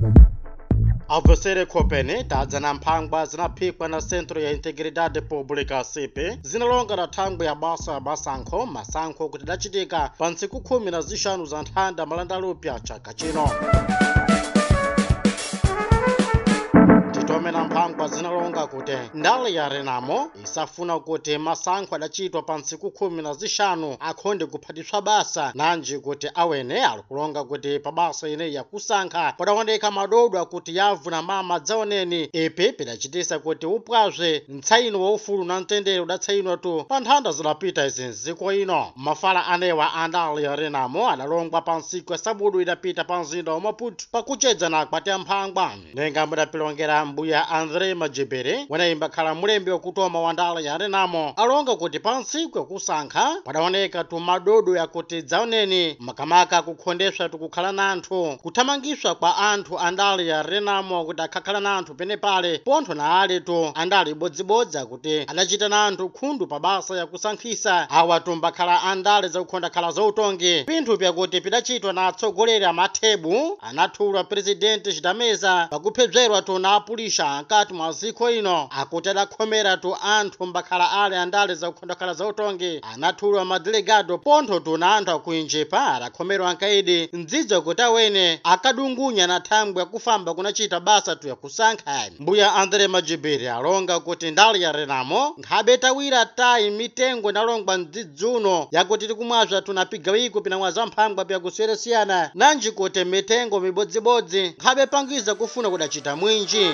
Avosere Kopene, Dadzana Mpangwa, Zinapikwa na Centro ya Integridade Pública CP, zinalonga na thangwe ya basa masankho kuti dachitika pa ntsiku 15 za nthanda malandalupya chaka chino. Titome na Mpangwa zinalonga kuti ndale ya Renamo isafuna kuti masankho adachitwa pa ntsiku 15 akhonde kuphatiswa basa nanji kuti awene alikulonga kuti pa basa ine ya kusankha padaoneka madodwa kuti yavu na mama dzaoneni ipi pidachitisa kuti upwazve mtsaino wa ufulu na mtendere udatsainwa tu pa nthanda zidapita izi nziko ino. Mafala anewa andale ya Renamo adalongwa pa ntsiku ya Sabudu idapita pa mzinda wa Maputo pakuchedza na akwati ya Mphangwa. Nenga mudapilongera mbuya Andre Majibere wanayimba khala mulembi wakutoma wa ndale ya Renamo alonga kuti pa ntsiku ya kusankha padaoneka tu madodo yakuti dzaoneni makamaka kukhondeswa tukukhala na anthu kuthamangiswa kwa anthu andale ya Renamo kuti akhakhala na anthu penepale pontho na aletu andale ibodzibodzi kuti adachita na anthu khundu pa basa ya kusankhisa awa tumbakhala andale zakukhonda khala zautongi pinthu pyakuti pidachitwa na atsogoleri amathebu anathulwa Presidente Chidameza pakuphedzerwa tu na apulisha nkati mwa ziko ino akuti adakhomera tu anthu mbakhala ale andale zakukhonda khala zautongi anathulwa madelegado pontho tu na anthu akuinjepa adakhomerwa nkaidi ndzidzo kuti awene akadungunya na thangwe yakufamba kunachita basa tu ya kusankha. Mbuya Andre Majibiri alonga kuti ndale ya Renamo nkhabe tawira tayi mitengo inalongwa mdzidzuno yakuti tikumwazva tunapiga wiko pinamwa za Mphangwa pyakusiyana nanji kuti mitengo mibodzibodzi nkhabe pangiza kufuna kudachita mwinji.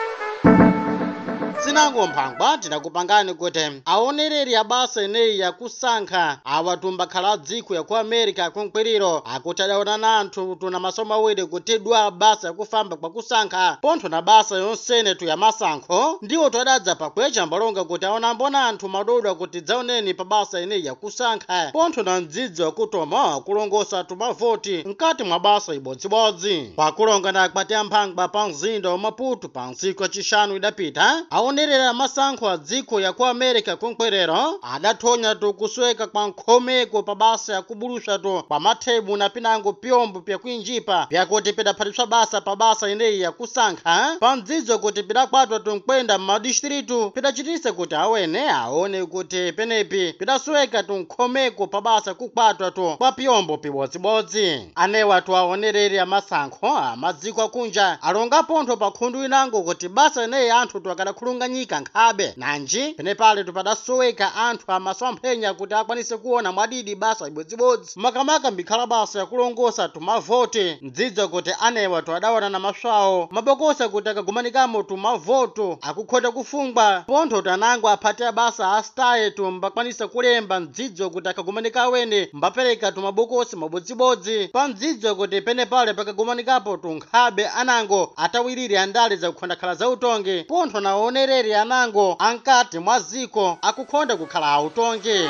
Sinango Mphangwa tinakupangani kuti aonereri ya basa ineyi ya kusankha awatumba khala dziko ya ku America kunkwiriro akuti adaona na anthu tuna masomo awiri kutidwa basa yakufamba kwa kusankha pontho na basa yonsene tu ya masankho ndiwo twadadza pakwecha mbalonga kuti aona mbona anthu madodwa kuti dzaoneni pa basa ineyi ya kusankha pontho na mdzidzo wakutoma kulongosa tu mavoti mkati mwa basa ibodzibodzi pakulonga na akwati ya Mphangwa pa mzinda wa Maputo pa ntsiku yachishanu idapita onerera masankho a dziko ya ku America kunkwerero adathonya tu kusweka kwa nkhomeko pa basa ya kubulusha tu pa mathebu na pinango pyombo pyakuinjipa pyakuti pidaphatiswa basa pa basa ineyi ya kusankha pa mdzidzo kuti pidakwatwa tu nkwenda m'madistritu pidachitisa kuti awene aone kuti penepi pidasweka tu nkhomeko pa basa kukwatwa tu kwa pyombo pibodzibodzi. Anewa tu aonereri ya masankho amadziko akunja alonga pontho pa khundu inango kuti basa ineyi anthu tu akadakhulunga nyika nkhabe nanji penepale tupadasoweka anthu amasomphenya kuti akwanise kuona mwadidi basa ibodzibodzi makamaka mbikhala basa yakulongosa tumavoti mdzidzo kuti anewa tu adaona na maswawo mabokosa kuti akagumanikamo tumavoto akukhota kufungwa pontho tanango aphate basa astaye tu mbakwanisa kulemba mdzidzo kuti akagumanika awene mbapereka tumabokosi mabodzibodzi pa mdzidzo kuti penepale pakagumanikapo tunkhabe anango atawiriri andale zakukhonda khala zautongi pontho naonere anango ankati mwa ziko akukhonda kukhala autongi.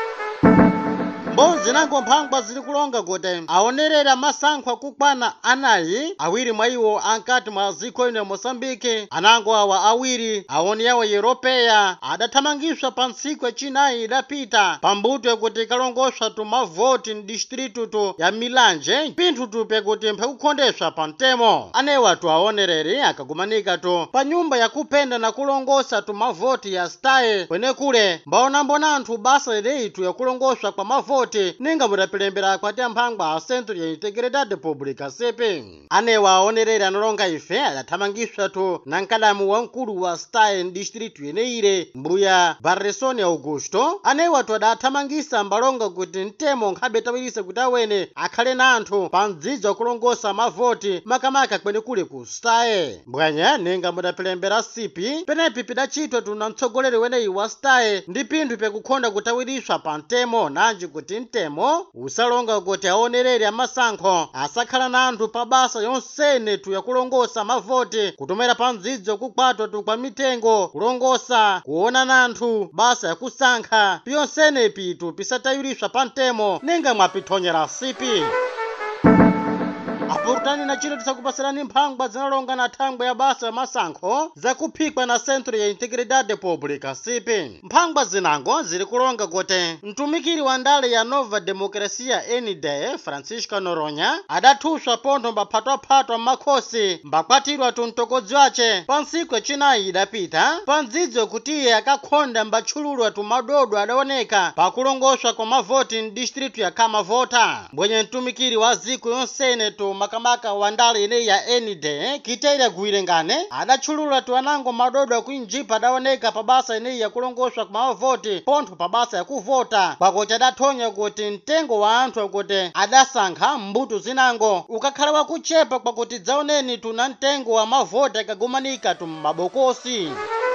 Mbonzi nango Mphangwa zili kulonga kuti aonerera masankho akukwana anayi awiri mwa iwo ankati mwa ziko ino ya Mosambike anango awa awiri aoni yawo Europeya adathamangiswa pa ntsiku yachinayi idapita pambuto yakuti ikalongoswa tu mavoti mdistritu tu ya Milanje pinthu tu pyakuti mphakukhondeswa pa mtemo. Anewa tu aonereri akagumanika tu pa nyumba yakupenda na kulongosa tu mavoti ya staye kwenekule mbaona mbona anthu basa ineyi tu yakulongoswa kwa mavoti ninga mudapilembera akwati ya Mphangwa a Centro ya Integridade Pública CP. Anewa aonereri analonga ife adathamangiswa tu na nkadamu wamkulu wa staye mdistritu yeneire mbuya Barresoni Augusto. Anewa tu adathamangisa mbalonga kuti mtemo nkhabe tawirisa kuti awene akhale na anthu pa mdzidzo wakulongosa mavoti makamaka kwenekule ku staye mbwanya ninga mudapilembera CP penepi pidachitwa tu na mtsogoleri weneyi wa staye ndi pinthu pyakukhonda kutawiriswa pa mtemo nanji kuti mtemo usalonga kuti aonereri amasankho asakhala na anthu pa basa yonsene tu yakulongosa mavoti kutomera pa mdzidzo kukwatwa tu kwa mitengo kulongosa kuona na anthu basa yakusankha piyonsene pitu pisatawiriswa pa mtemo ninga mwapithonyera sipi. apurutani na chiro tisakupasirani mphangwa zinalonga na thangwe ya basa ya masankho zakuphikwa na Centro ya Integridade Pública CP. Mphangwa zinango ziri kulonga kuti mtumikiri wa ndale ya Nova Democracia ND Francisco Noronha adathuswa pontho mbaphatwaphatwa m'makhosi mbakwatirwa tumtokodzi wace pa ntsiku yacinayi idapita pa ndzidzo kuti iye akakhonda mbatchululwa tumadodo adaoneka pakulongoswa kwa mavoti m'distritu ya Kamavota. Mbwenye mtumikiri wa ziko yonsene makamaka wa ndale ineyi ya ND Kiteira Gwirengane adatchulula anango madodo akuinjipa adaoneka pa basa ineyi yakulongoswa kwa mavoti pontho pa basa yakuvota pakuti adathonya kuti mtengo wa anthu akuti adasankha mbuto zinango ukakhala wakuchepa kwakuti dzaoneni tuna mtengo wa mavoti akagumanika m'mabokosi.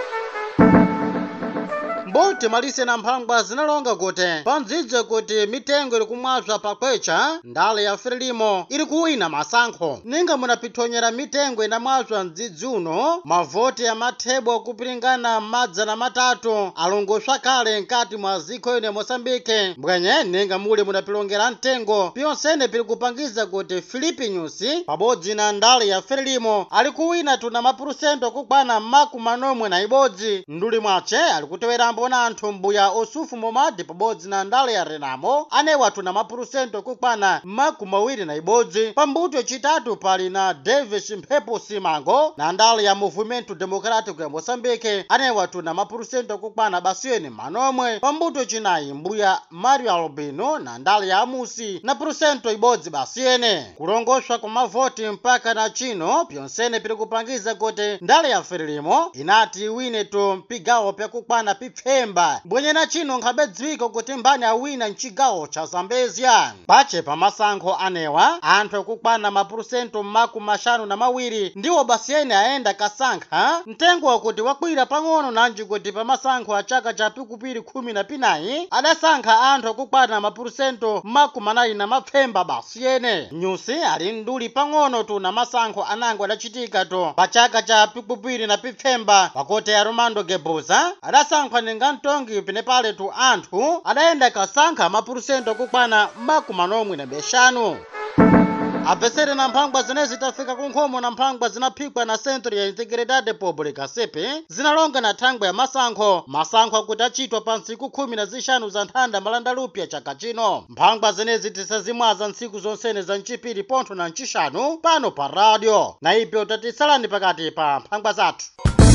Mboti malise na mphangwa zinalonga kuti pandzidze kuti mitengo iri kumwazwa pakwecha ndale ya Frelimo iri kuwina masankho ninga munapithonyera mitengo inamwazwa mdzidzi uno mavoti ya mathebo kupiringana madzana matatu alongoswa kale nkati mwa ziko ine Mosambike. Mbwenye ninga muli munapilongera mtengo piyonsene pili kupangiza kuti Filipe Nyusi pabodzi na ndale ya Frelimo ali kuwina tuna mapurusento kukwana makumanomwe na ibodzi. Nduli mwace ali kutewerambo na anthu mbuya Osufu Momadi pabodzi na ndale ya Renamo anewa tuna mapurusento kukwana makumawiri na ibodzi. Pambuto yacitatu pali na Davis Mphepo Simango na ndale ya Movimento Democrático ya Moçambique anewa tuna mapurusento kukwana basiyeni manomwe. Pambuto yacinayi mbuya Mario Albino na ndale ya Amusi na purusento ibodzi basiyene. Kulongoswa kwa mavoti mpaka na chino pyonsene pili kupangiza kuti ndale ya Frelimo inati iwine mpigawo pyakukwana pipfemba. Mbwenye na chino nkhabe dziko kuti mbani awina mchigawo cha Zambezia. Pache pa masankho anewa anthu akukwana mapurusento makumashanu na mawiri ndiwo basiyene aenda kasankha mtengo wakuti wakwira pang'ono nanji kuti pa masankho a chaka cha pikupiri 14 adasankha anthu akukwana mapurusento makumanayi na mapfemba basiyene. Nyusi ali nduli pang'ono tuna masankho anango adachitika pa chaka cha pikupiri na pipfemba pakuti Armando Gebuza adasankha ninga mtongi pinepale anthu adaenda kasankha mapurusento kukwana makumanomwe na beshanu. Apesere na mphangwa zinezi tafika kunkhomo na mphangwa zinaphikwa na Centro ya Integridade Pública CP zinalonga na thangwe ya masankho akuti achitwa pa ntsiku 15 za nthanda malandalupya chaka chino. Mphangwa zinezi tisazimwaza ntsiku zonsene za mchipiri pontho na mchishanu pano pa radio na ipyo tatisalani pakati pa mphangwa zathu.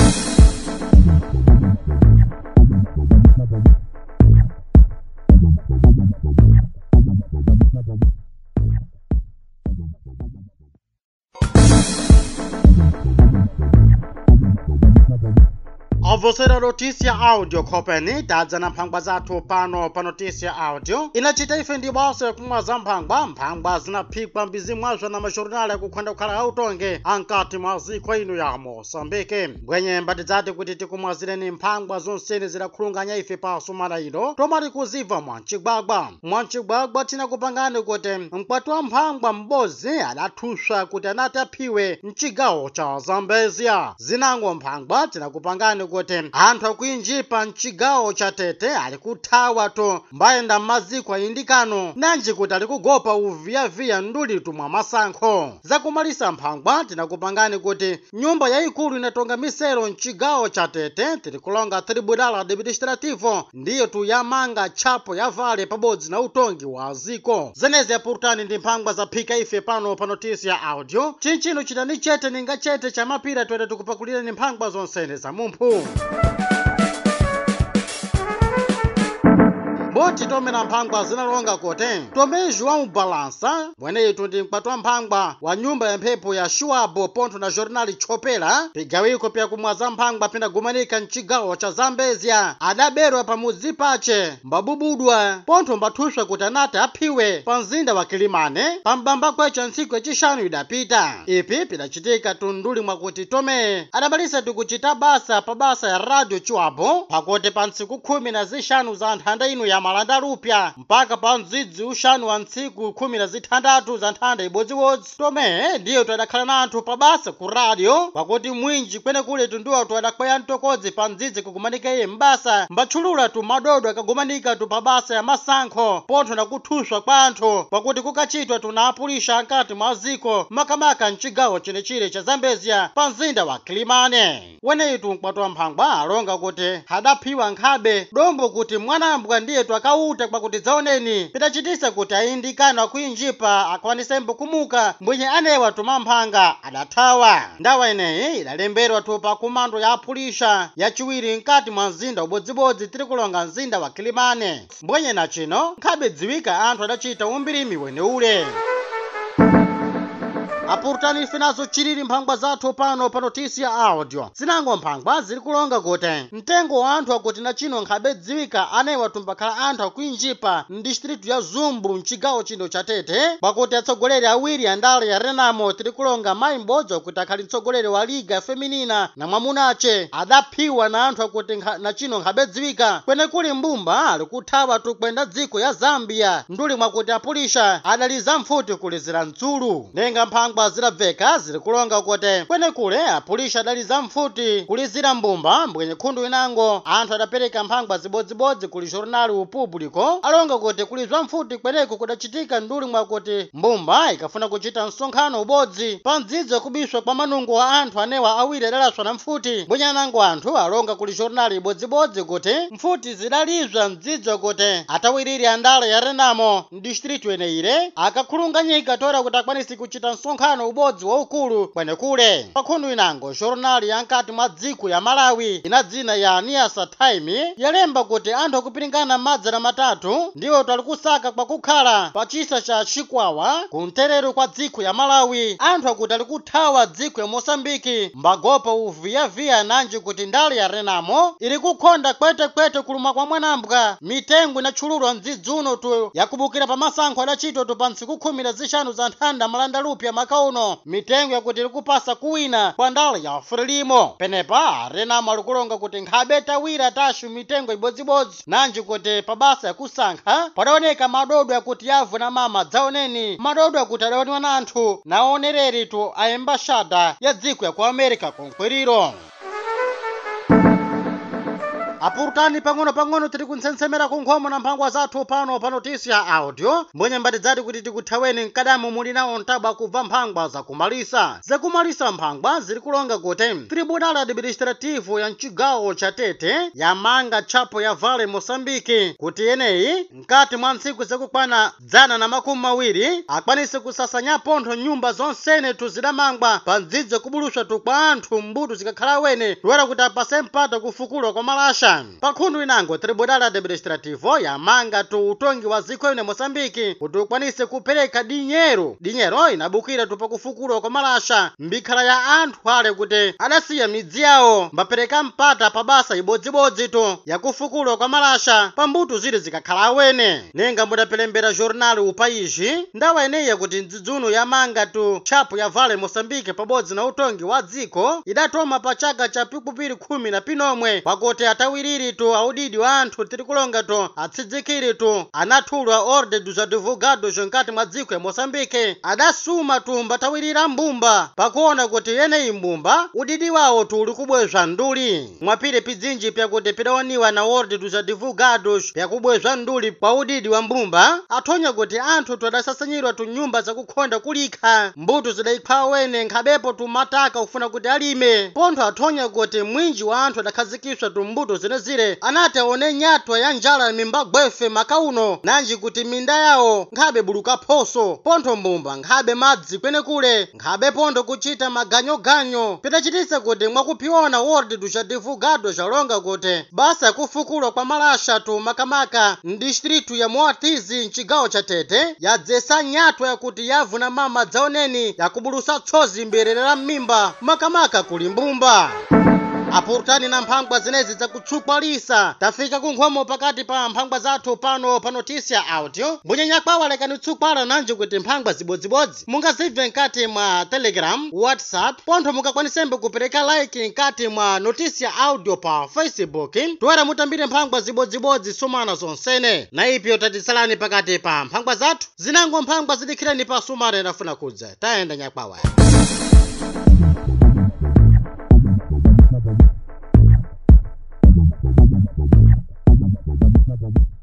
Avosera notícia áudio kopeni tadza na mphangwa zathu pano pa notícia áudio inachita ife ndi basa kumwaza mphangwa zinaphikwa mbizimwazwa na majornali akukhwenda kukhala autonge ankati mwa ziko ino ya Moçambique. Mbwenye mbatidzati kuti tikumwazireni mphangwa zonsene zidakhulunganya ife pa sumana ino tomali kuziva mwancigwagwa tinakupangani kuti mkwati wa mphangwa m'bodzi adathuswa kuti anati aphiwe mchigawo cha Zambezia. Zinango mphangwa tinakupangani kuti anthu akuinjipa mchigawo cha Tete ali kuthawa mbayenda m'maziko ayindikano nanji kuti ali kugopa uviyaviya nduli mwa masankho. Zakumalisa mphangwa tinakupangani kuti nyumba yayikulu inatonga misero mchigawo cha Tete tiri kulonga Tribunal Administrativo ndiyo yamanga tchapo ya vale pabodzi na utongi wa ziko. Zenezi apurutani ndi mphangwa zaphika ife pano pa notícia áudio chinchino chitani chete ninga chete cha mapira twete tikupakulireni mphangwa zonsene za mumphu. Boti tome na mphangwa zinalonga kuti tome João Balança mweneyi ndi mkwati wa mphangwa wa nyumba ya mphepo ya Shuabo pontho na jornali Chopela pigawiko pya kumwaza mphangwa pindagumanika mchigawo cha Zambezia adaberwa pamudzi pace mbabubudwa pontho mbathuswa kuti anati aphiwe pa mzinda wa Kilimane pambamba kwecha ntsiku yacishanu idapita. Ipi pidachitika nduli mwakuti tome adabalisa tikuchita basa pa basa ya radio Chuabo pakuti pa ntsiku 15 za nthanda ino ya malanda lupya mpaka pa mdzidzi ushanu wa ntsiku 16 za nthanda ibodziwodzi. Tome ndiyo twadakhala nanthu pa basa ku radio pakuti mwinji kwenekule tunduwa twadakweya mtokodzi pa mdzidzi kugumanika iye mbasa mbatchulula tu madodo akagumanika tu pa basa ya masankho pontho na kuthuswa kwa anthu pakuti kukachitwa tunaapulisha nkati mwa ziko makamaka mchigawo chenechile cha Zambezia pa mzinda wa Kilimane. Weneyitu mkwatwa mphangwa alonga kuti hadaphiwa nkhabe dombo kuti mwanambwa ndiye twakauta pakuti dzaoneni pitachitisa kuti ayindikana akuinjipa akwanisembo kumuka mbwenye anewa tumamphanga adathawa. Ndawa ineyi idalemberwa tu pa kumando ya apulisha yachiwiri nkati mwa mzinda ubodzibodzi tiri kulonga mzinda wa Kilimane. Mbwenye na chino nkhabe dziwika anthu adachita umbirimi weneule. Apurtani ife nazo chiriri mphangwa zathu pano pa notisi ya audio. Zinango mphangwa ziri kulonga kuti mtengo wa anthu akuti na chino nkhabe dziwika anewa tumbakhala anthu akuinjipa mdistritu ya Zumbu mchigawo chino cha Tete pakuti atsogoleri awiri andale ya Renamo tiri kulonga mayi m'bodzi akuti akhali mtsogoleri wa Liga Feminina na mwamunache adaphiwa na anthu akuti na chino nkhabe dziwika kwenekuli mbumba ali kuthawa tukwenda dziko ya Zambia nduli mwakuti apulisha adaliza mfuti kulizira mtsulu. Nenga mphangwa zirabveka ziri kulonga kuti kwenekule apulisha adaliza mfuti kulizira mbumba mbwenye khundu inango anthu adapereka mphangwa zibodzibodzi kuli jornali upubliko alonga kuti kulizwa mfuti kweneku kudachitika nduli mwakuti mbumba ikafuna kuchita msonkhano ubodzi pa mdzidzi kubiswa kwa manungo wa anthu anewa awiri adalaswa na mfuti mbwenye anango anthu alonga kuli jornali ibodzibodzi kuti mfuti zidalizwa mdzidzi kuti atawiriri andale ya Renamo mdistritu eneire akakhulunganyika tora kuti akwanisi kuchita msonkhano ubodzi wa ukulu kwenekule. Pakhundu inango jornali yankati mwa dziko ya Malawi ina dzina ya Niasa Time yalemba kuti anthu akupiringana madzana matatu ndiwo twali kusaka kwa kukhala pa chisa cha Chikwawa kuntereru kwa dziko ya Malawi. Anthu akuti ali kuthawa dziko ya Mosambiki mbagopa uviyaviya nanji kuti ndale ya Renamo ili kukhonda kwete kuluma kwa mwanambwa mitengo inatchululwa mdzidzi uno tu yakubukira pa masankho adachitwa tu pa ntsiku 15 za nthanda malanda lupya makauno mitengo yakuti ili kupasa kuwina kwa ndale ya Frelimo. Penepa Renamo ali kulonga kuti nkhabe tawira tashu mitengo ibodzibodzi nanji kuti pa basa yakusankha padaoneka madodo yakuti yavu na mama dzaoneni madodo yakuti adaonwa na anthu naonereri tu a embashada ya dziko ya ku America konkwiriro. Apurtani pang'ono tiri kuntsensemera kunkhomo na mphangwa zathu pano pa notisi ya audio mbwenye mbati dzati kuti tikuthaweni mkadamu muli nawo ntaba kubva mphangwa zakumalisa mphangwa ziri kulonga kuti tribunal administrativo ya mchigawo cha Tete yamanga tchapo ya Vale Mosambiki kuti yeneyi mkati mwa ntsiku zakukwana 120 akwanise kusasanya pontho nyumba zonsene tuzidamangwa pa mdzidzi kubuluswa tu kwa anthu mbuto zikakhala wene toera kuti apase mpata kufukulwa kwa malasha. Pakhundu inango tribunal administrativo yamanga tu utongi wa ziko ine Mosambiki kuti ukwanise kupereka dinyero inabukira tu pakufukulwa kwa malasha mbikhala ya anthu ale kuti adasiya midzi yawo mbapereka mpata pa basa ibodzibodzi tu yakufukulwa kwa malasha pambuto zili zikakhala awene. Nenga mudapelembera jornali upaishi ndawa ineyi yakuti mdzidzuno yamanga tu tchapo ya Vale Mosambiki pabodzi na utongi wa dziko idatoma pa chaka cha pikupiri 10 na pinomwe pakuti atawiriri tu audidi wa anthu tiri kulonga tu atsidzikiri tu anathulwa ordem dos advogados nkati mwa dziko ya Mosambike adasuma tu mbatawirira mbumba pakuona kuti yeneyi mbumba udidi wawo tu uli kubwezwa nduli mwapire pidzinji pyakuti pidawaniwa na ordem dos advogados pyakubwezwa nduli pa udidi wa mbumba athonya kuti anthu tu adasasanyirwa tu nyumba zakukhonda kulikha mbuto zidayikhala wene nkhabepo tu mataka ufuna kuti alime pontho athonya kuti mwinji wa anthu adakhazikiswa tu mbuto zinezire anati aone nyatwa ya njala mimba gwefe makauno nanji kuti minda yawo nkhabe buluka phoso pontho mbumba nkhabe madzi kwenekule nkhabe pontho kuchita maganyoganyo pitachitisa kuti mwakuphiona ordem dos advogados alonga kuti basa yakufukulwa kwa malasha tu makamaka mdistritu ya Moatizi mchigawo cha Tete yadzesa nyatwa yakuti yavu na mama dzaoneni yakubulusa tsozi mberera mmimba makamaka kuli mbumba. apurutani na mphangwa zinezi zakutsukwalisa tafika kunkhomo pakati pa mphangwa zathu pano pa Notícia Áudio. Mbunyanyakwawa lekani tsukwala nanji kuti mphangwa zibodzibodzi mungazibve nkati mwa Telegram, WhatsApp, pontho mungakwanisembe kupereka like nkati mwa Notícia Áudio pa Facebook. Tuwera mutambire mphangwa zibodzibodzi sumana zonsene na ipyo tatisalani pakati pa mphangwa zathu zinango mphangwa zidikhireni pa sumana inafuna kudza tayenda nyakwawa. Bye.